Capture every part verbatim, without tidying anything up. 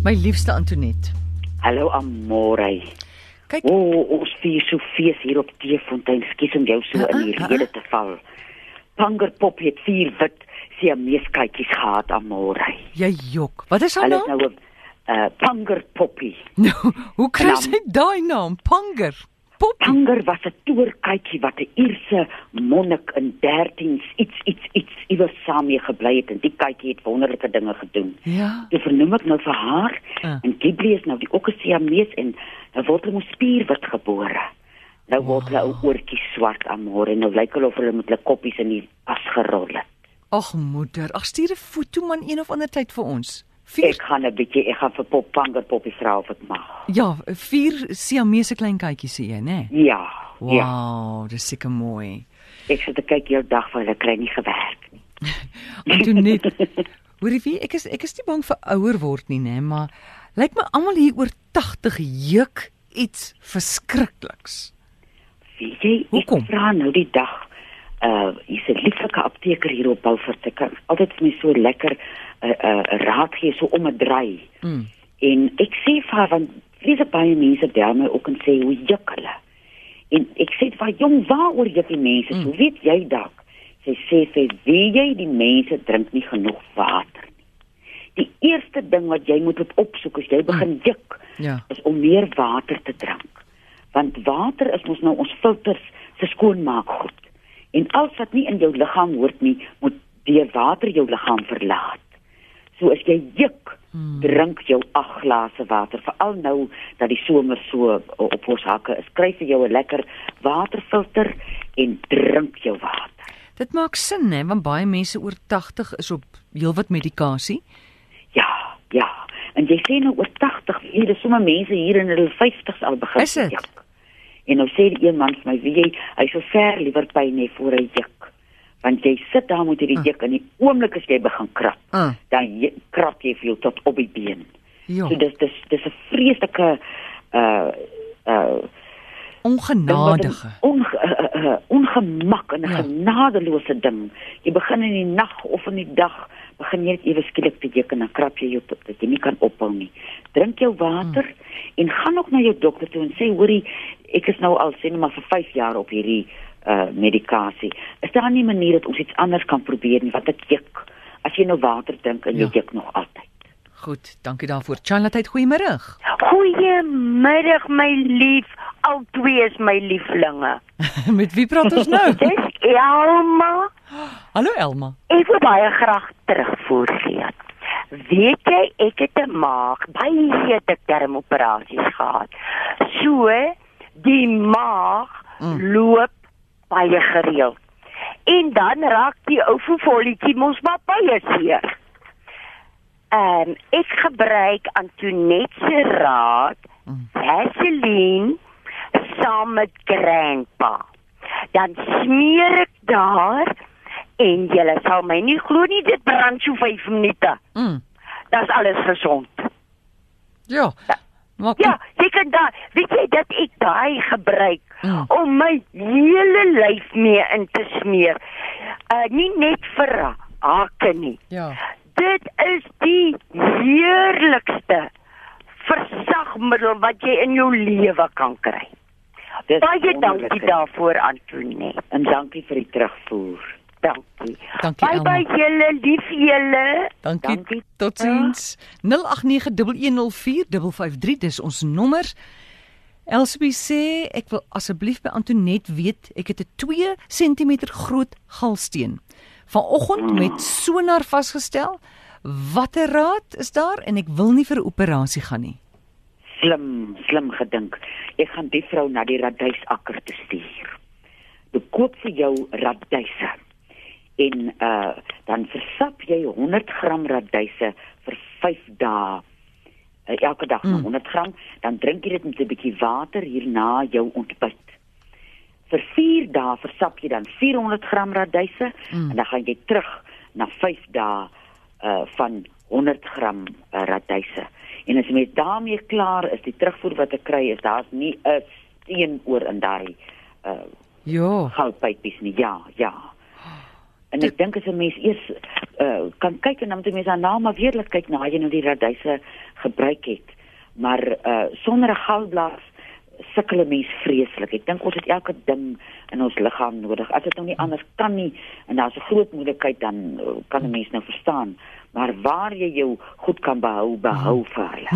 My liefste Antoinette. Hallo Amore. Kyk. O, oh, ons vier so fees hier op Teefontein. Skus om jou so uh, in die uh, rede te val. Pangerpop het vier wit siameeskytjies gehad, Amore. Jy jok. Wat is haar Hulle is naam? nou 'n uh, Pangerpoppie. Nou, hoe kry En dan- sy daai naam? Panger. Poppie. Panger was 'n toerkytjie wat 'n Ierse monnik in dertien iets iets iets iewers saam mee gebly het en die kytjie het wonderlike dinge gedoen. Ja. Toe vernoem ek nou vir haar Uh. en Ghibli is nou die ook 'n siamees en nou word hulle mos spierwit gebore. Nou word hulle ou oortjies swart, Amore, en nou lyk hulle of hulle met hulle koppies in die as gerol het. Ag moeder, ag stuur 'n foto man een of ander tyd vir ons. Vier, Ek gaan 'n bietjie, ek gaan vir Pop Pangerpoppie vra of ek mag. ja, vier Siamese klein kykies sê jy, né? Ja, ja. Wow, dis seker mooi. Ek sit te kyk heel dag vir hulle kry nie gewerk nie. Antoinette, hoorie wie, ek is ek is nie bang vir ouer word nie, né, maar lyk my almal hier oor tagtig juk iets verskrikliks. Weet jy, Hoekom? ek vra nou die dag, uh, hier's 'n lieflike apteker hier op Beaufort. Ek kan altyd vir my so lekker uh, uh, raad gee, so om 'n draai. Mm. En ek sê vir haar, want vreeslik baie mense bel my ook en sê, hoe juk hulle? En ek sê vir haar, jong, waaroor juk die mense? Mm. So weet jy dalk? Sy sê, sy, weet jy, die mense drink nie genoeg water nie. Die eerste ding wat jy moet opsoek as jy begin juk, Ja. is om meer water te drink. Want water is mos nou ons filters se skoonmaakgoed. En alles wat nie in jou liggaam hoort nie, moet deur water jou liggaam verlaat. So as jy juk, hmm. drink jou agt glase water, veral nou dat die somer so op ons hakke is. Kry vir jou 'n lekker waterfilter en drink jou water. Dit maak sin, hè, want baie mense oor tagtig is op heelwat medikasie. Ja, ja. En jy sê nou oor tagtig, hier is sommer mense hier in hulle vyftigs al begin Is dit? juk. En nou sê die een man vir my, weet jy, hy sou ver liewer pyn hê voor hy juk. Want jy sit daar met hierdie Uh. juk en die oomblik as jy begin krap, Uh. dan jy, krap jy veel tot op die been. Ja. So dis dis dis 'n vreeslike uh uh Ongenadige. onge, uh, uh, ongemak en 'n Ja. genadeloose ding. Jy begin in die nag of in die dag begin jy net ewe skielik te juk en dan krap jy jou tot dat jy nie kan ophou nie. Drink jou water hmm. en gaan ook na jou dokter toe en sê, hoorie, ek is nou al sê net maar vir vyf jaar op hierdie uh medikasie. Is daar nie 'n manier dat ons iets anders kan probeer nie wat ek juk? As jy nou water drink en jy Ja. juk nog altyd. Goed, dankie daarvoor. Charlotte, goeiemôre. Goeiemiddag my lief, al twee is my lieflinge. Met wie praat ons nou? Dis Elma. Hallo Elma. Ek wil baie graag terugvoer gee. Weet jy, ek het 'n maag, baie dik darmoperasies gehad. So, die maag Mm. loop baie gereeld. En dan raak die ou voetvolletjie mos maar baie seer. Ehm um, ek gebruik Antoinette se raad, Mm. Vaseline saam met Grandpa. Dan smeer ek daar en julle sal my nie glo nie, dit brand so vyf minute. Mm. Dis alles gesond. Ja. Maar Ja, jy kan daar, weet jy dat ek daai gebruik Mm. om my hele lyf mee in te smeer. Uh nie net vir hake nie. Ja. Dit is die heerlikste versagmiddel wat jy in jou lewe kan kry. Dis Baie wonderlik, dankie hè. daarvoor, Antoinette. En dankie vir die terugvoer. Dankie. Dankie Bye Elma. bye julle, lief julle. Dankie. Dankie. Totsiens. nul agt nege een een nul vier vyf vyf drie dis ons nommer. Elsbie sê ek wil asseblief by Antoinette weet ek het 'n twee sentimeter groot galsteen. Vanoggend met sonar vasgestel. Watter raad is daar en ek wil nie vir 'n operasie gaan nie. Slim, slim gedink. Ek gaan die vrou na die radysakker te stuur. Jy koop vir jou radyse. En uh dan versap jy honderd gram radyse vir vyf dae. Uh, elke dag mm. honderd gram, dan drink jy dit met 'n bietjie water hierna jou ontbyt. Vir vier dae versap jy dan vierhonderd gram radyse Mm. en dan gaan jy terug na vyf dae uh van honderd gram uh, radyse. En as jy met daarmee klaar is, die terugvoer wat ek kry is daar's nie 'n steen oor in daai uh Ja. goudpypies nie. Ja, ja. En ek dink as 'n mens eers uh, kan kyk en dan moet 'n mens daarna maar weer laat kyk na jy nou die radyse gebruik het. Maar uh, sonder 'n galblaas sukkel 'n mens vreeslik. Ek dink ons het elke ding in ons liggaam nodig. As dit nou nie anders kan nie en daar's 'n groot moeilikheid, dan uh, kan 'n mens nou verstaan. Maar waar jy jou goed kan behou, behou vir hulle.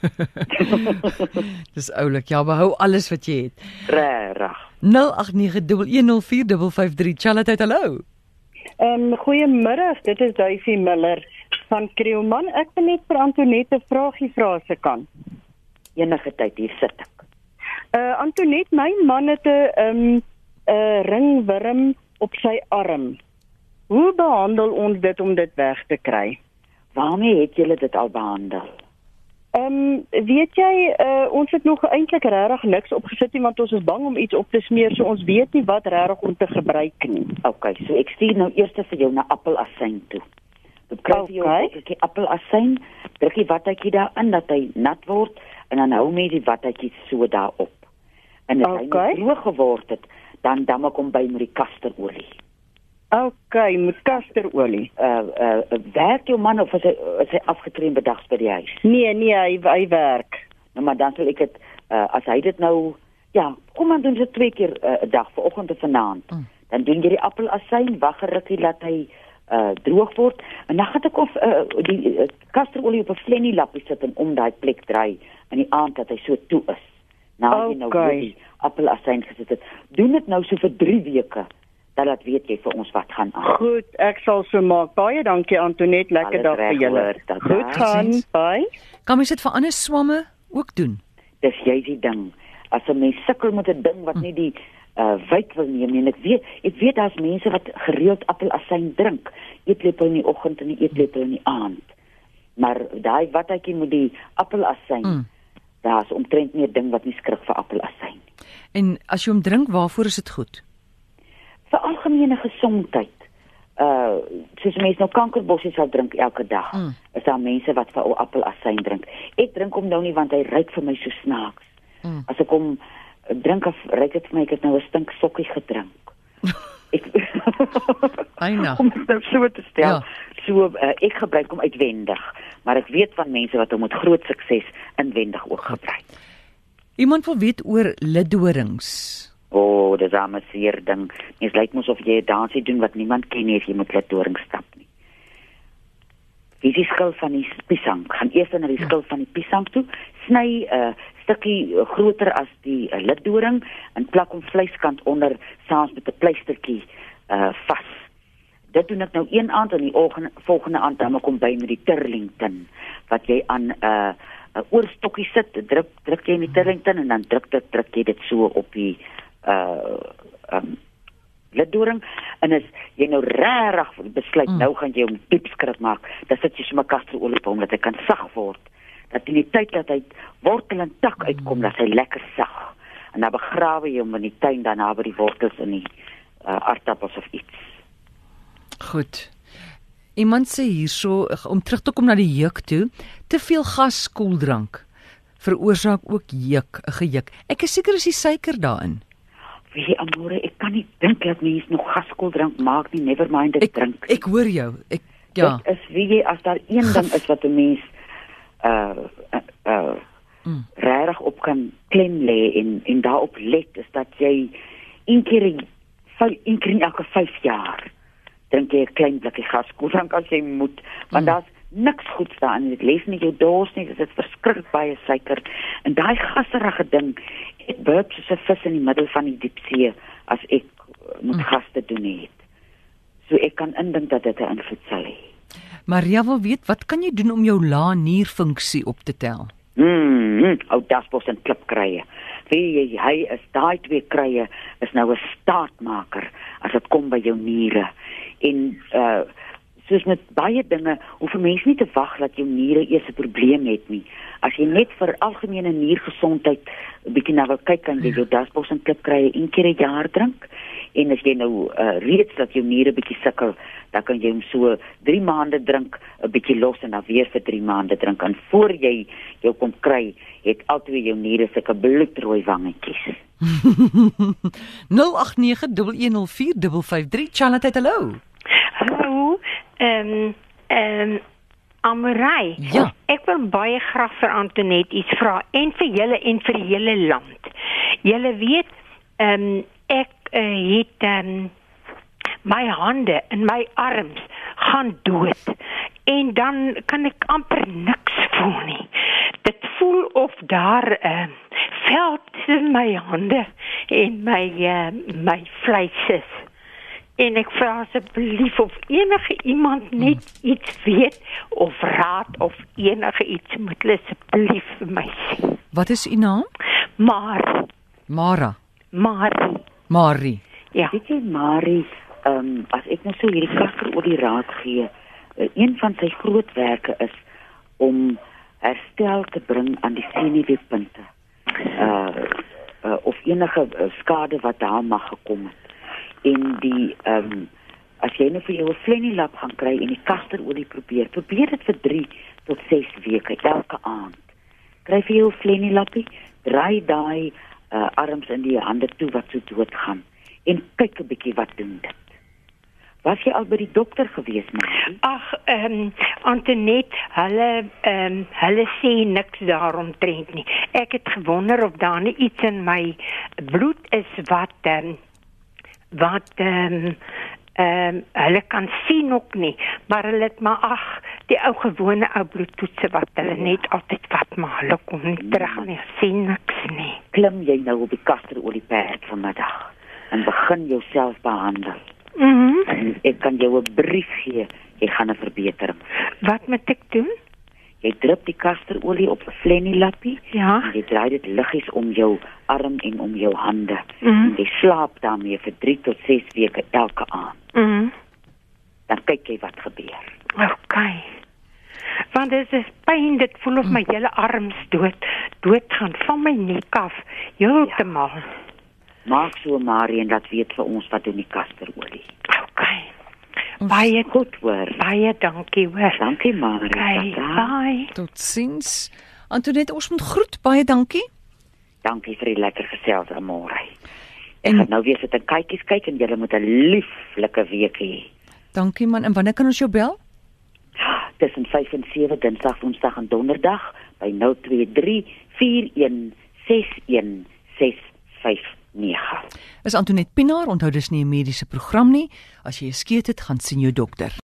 Dis oulik. Ja, behou alles wat jy het. Regtig. nul agt nege een een vier vyf vyf drie. Charlotte, hallo. Um, goeiemiddag, dit is Duifie Miller van Krielman. Ek wil net vir Antoinette 'n vraagie vra as ek kan. Enige tyd, hier sit ek. Uh, Antoinette, my man het 'n um, uh, ringwurm op sy arm. Hoe behandel ons dit om dit weg te kry? Waarmee het julle dit al behandel? Um, weet jy, uh, ons het nog eintlik regtig niks opgesit nie, want ons is bang om iets op te smeer, so ons weet nie wat regtig om te gebruik nie. OK, so ek stuur nou eers vir jou na appelasyn toe. Dit kry jy Okay. ook 'n bietjie appelasyn, druk die watjie daarin dat hy nat word en dan hou met die watjie so daarop. En as hy Okay. nou droog geword het, dan dan kom by met die kasterolie. OK, met kasterolie. Uh uh werk jou man of is hy is hy afgetree bedags by die huis? Nee, nee, hy, hy werk. Nou maar dan sal ek dit uh, as hy dit nou ja, kom dan doen ze twee keer 'n uh, dag, vanoggend en vanaand. Mm. Dan doen jy die appelasyn, wag 'n rukkie laat hy uh droog word en dan gaan ek of uh, die uh, kasterolie op 'n flennie lappie sit en om daai plek draai in die aand dat hy so toe is. Nou jy nou Okay. weer die appelasyn gesit het. Doen dit nou so vir drie weke. Dan laat weet jy vir ons wat gaan aan. Goed, ek sal so maak. Baie dankie Antoinette, lekker Alles dag vir reg, julle. hoor, dat Goed daar. gaan, bye. Kan mens dit vir ander swamme ook doen? Dis jy die ding. As 'n mens sukkel met 'n ding wat nie die uh wyk wil neem nie. En ek weet, ek weet daar's mense wat gereeld appelasyn drink. Eetlepel in die oggend en 'n eetlepel in die aand. Maar daai watjie met die appelasyn, mm. daar's omtrent nie 'n ding wat nie skrik vir appelasyn. En as jy hom drink, waarvoor is dit goed? Vir algemene gesondheid. Uh soos mense nou kankerbossies sal drink elke dag. Mm. Is daar mense wat vir ou appelasyn drink. Ek drink hom nou nie want hy ruik vir my so snaaks. Mm. As ek hom drink of ruik dit vir my ek het nou 'n stink sokkie gedrink. Ek Eina. om dit nou so te stel. Ja. So uh, ek gebruik hom uitwendig, maar ek weet van mense wat hom met groot sukses inwendig ook gebruik. Iemand wil weet oor lidorings. O, oh, dis 'n seer ding. Mens lyk mos of jy 'n dansie doen wat niemand ken nie as jy met lidorings stap nie. Wie die skil van die piesang, gaan eers na die skil van die piesang toe, sny 'n uh, stukkie uh, groter as die uh, liddoring en plak hom vleiskant onder saans met 'n pleistertjie uh, vas. Dit doen ek nou een aand en die volgende, volgende aand dan kom by met die Turlington wat jy aan 'n uh, 'n oorstokkie sit, druk druk jy in die Turlington en dan druk dit druk jy dit so op die uh um liddoring en as jy nou regtig besluit mm. nou gaan jy hom diep skrik maak, dan sit jy sommer kasterolie op hom dat hy kan sag word. Dat in die tyd dat hy wortel en tak uitkom, dat hy lekker sag. En dan begrawe jy hom in die tuin daarna by die wortels in die uh, aardappels of iets. Goed. Iemand sê hierso om terug te kom na die juk toe, te veel gas koeldrank veroorsaak ook juk, 'n gejuk. Ek is seker is die suiker daarin. Weet jy, Amore, ek kan nie dink dat mense nog gaskoeldrank maak nie, never mind dit Ek drink. ek hoor jou. Ek ja. Dit is wie jy as daar een ding is wat 'n mens uh uh, uh mm. regtig op kan klem lê en en daarop let is dat jy een keer in een keer in elke vyf jaar drink jy 'n klein blikkie gaskoeldrank as jy moet, want mm. daar's niks goeds daarin. Dit lees nie jou dors nie, dit is verskriklik baie suiker en daai gasserige ding. Ek burp soos 'n vis in die middel van die diepsee as ek met mm. gas te doen het. So ek kan indink dat dit 'n invloed sal hê. Maria wil weet, wat kan jy doen om jou lae nierfunksie op te tel? Mm, mm, ou dasbos en klipkrye. Wie jy, hy is daai twee krye is nou 'n staatmaker as dit kom by jou niere. En uh soos met baie dinge, hoef 'n mens nie te wag dat jou niere eers 'n probleem het nie. As jy net vir algemene niergesondheid 'n bietjie na wil kyk, kan jy jou dasbos en klipkrye een keer 'n jaar drink. En as jy nou uh, reeds dat jou niere bietjie sukkel, dan kan jy hom so drie maande drink, 'n bietjie los en dan weer vir drie maande drink. En voor jy jou kom kry, het altyd jou niere sulke bloedrooi wangetjies. nul agt nege een een nul vier vyf vyf drie. Charlotte, hallo. Ehm ehm Amorai. Ja. Ek wil baie graag vir Antoinette iets vra en vir julle en vir die hele land. Julle weet, ehm um, ek uh, het ehm um, my hande en my arms gaan dood en dan kan ek amper niks voel nie. Dit voel of daar ehm uh, vel tussen my hande en my uh, my vleis is. En ek vra asseblief of enige iemand net iets weet of raad of enige iets moet hulle asseblief vir my sê. Wat is u naam? Maar, Mara. maar, Marie. ja. Weet jy Marie, um, as ek nou so hierdie kaster oor die raad gee, uh, een van sy grootwerke is om herstel te bring aan die senuweepunte. Uh, uh, of enige uh, skade wat daar mag gekom het. En die, um, as jy nou vir jou 'n Flenilap gaan kry en die kasterolie probeer, probeer dit vir drie tot ses weke, elke aand. Kry vir jou 'n Flenilapie, draai daai uh, arms in die hande toe wat so dood gaan en kyk 'n bietjie wat doen dit. Was jy al by die dokter gewees, Marie? Ag, ehm um, Antoinette, hulle ehm um, hulle sê niks daaromtrent nie. Ek het gewonder of daar nie iets in my bloed is wat ehm um, wat ehm um, ehm um, hulle kan sien ook nie, maar hulle het maar ag, die ou gewone ou bloedtoetse wat hulle net altyd vat, maar hulle kom nie terug nie, sien niks nie. Klim jy nou op die kasterolieperd vanmiddag en begin jouself behandel. Mhm. En ek kan jou 'n brief gee, jy gaan 'n verbetering. Wat moet ek doen? Jy drup die kasterolie op 'n Flenilapie. Ja. En jy draai dit liggies om jou arm en om jou hande. Mhm. En jy slaap daarmee vir drie tot ses weke elke aand. Mhm. Dan kyk jy wat gebeur. Okay. Want dit is pyn, dit voel of my hele arms dood, dood gaan van my nek af, heeltemal. Ja. Maak so Marie en dat weet vir ons wat doen die kasterolie. Okay. Baie Goed hoor. Baie dankie hoor. Dankie Marie. Okay, Tata. bye. Totsiens. Antoinette, ons moet groet. Baie dankie. Dankie vir die lekker gesels Amore. Ek En- gaan nou weer sit en kykies kyk en julle moet 'n lieflike week hê. Dankie man. En wanneer kan ons jou bel? Tussen vyf en sewe Dinsdag, Woensdag en Donderdag by nul twee drie vier een ses een ses vyf nege. Is Antoinette Pinaar, onthou dis nie 'n mediese program nie. As jy 'n skeet het, gaan sien jou dokter.